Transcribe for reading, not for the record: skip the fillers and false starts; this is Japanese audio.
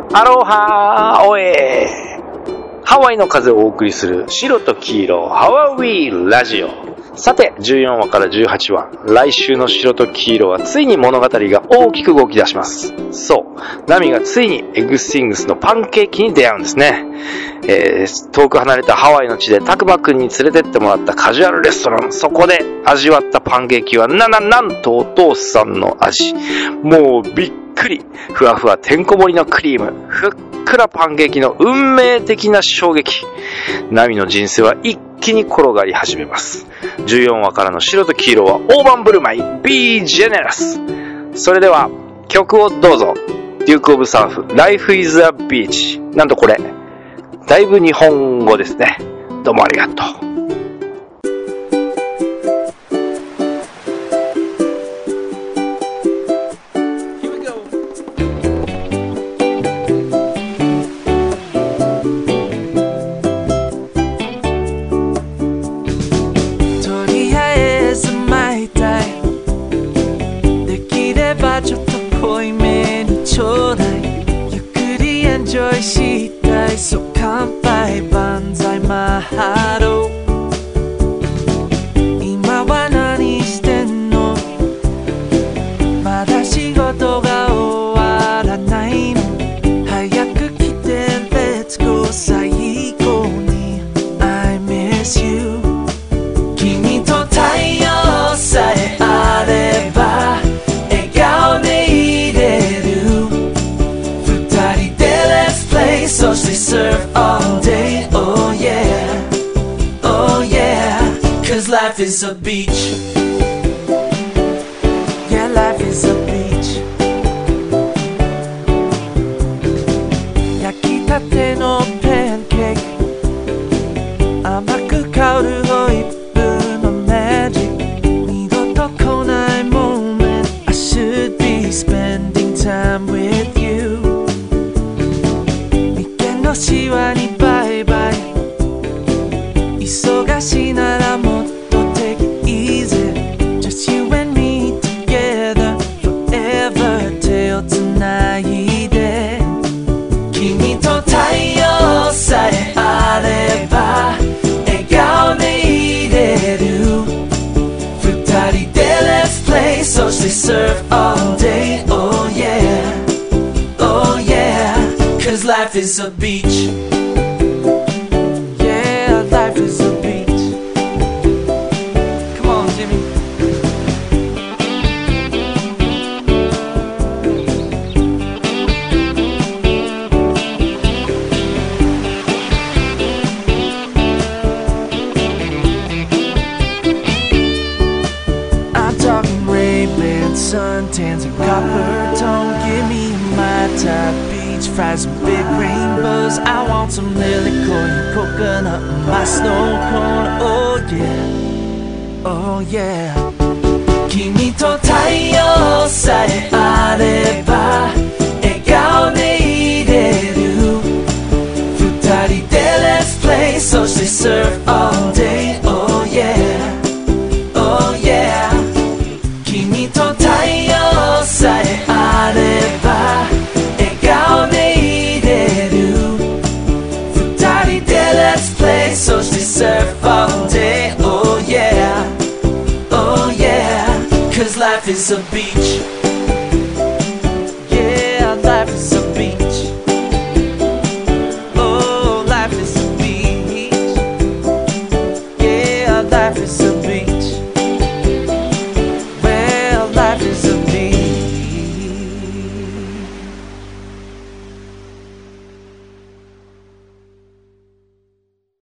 アロハーオエー。ハワイの風をお送りする白と黄色ハワウィーラジオ。さて14話から18話、来週の白と黄色はついに物語が大きく動き出します。そう、ナミがついにエグスティングスのパンケーキに出会うんですね。遠く離れたハワイの地でタクマくんに連れてってもらったカジュアルレストラン、そこで味わったパンケーキはなんとお父さんの味。もうびっくり、ふわふわてんこ盛りのクリーム、ふっくらパンケーキの運命的な衝撃。ナミの人生は一気に転がり始めます。14話からの白と黄色は大盤振る舞い Be Generous。 それでは曲をどうぞ。デュークオブサーフ Life is a Beach。 なんとこれだいぶ日本語ですね。どうもありがとう。 そう乾杯万歳マハロー。今は何してんの？まだ仕事が終わらないの？早く来て Let's go 最後に I miss you。 君と太陽さえあれば笑顔でいれる。二人で Let's play そしてsurf all day, oh yeah, oh yeah, cause life is a beach, yeah life is a beach。 焼きたてのパンケーキ、甘く香るホイップのマジック、二度と来ない moment I should be spending time with you。シワにバイバイ、忙しいならもっと take it easy Just you and me together forever 手をつないで。君と太陽さえあれば笑顔でいれる。二人で Let's play そして surf all day, oh yeah, oh yeah, cause life is a beach, yeah life is a beach。 Come on Jimmy。 I'm talking Ray-Ban suntans and copper tone. Give me my top beach fries and big rainbows. I want some liquor and coconut in my snow cone. Oh yeah, oh yeah。 君と太陽さえあれば笑顔でいれる。二人で Let's play そして surf all day, oh yeah, oh yeah。 君と太陽さえあればそして surf all day, oh yeah, oh yeah, cause life is a beach, yeah life is a beach, oh life is a beach, yeah life is a beach。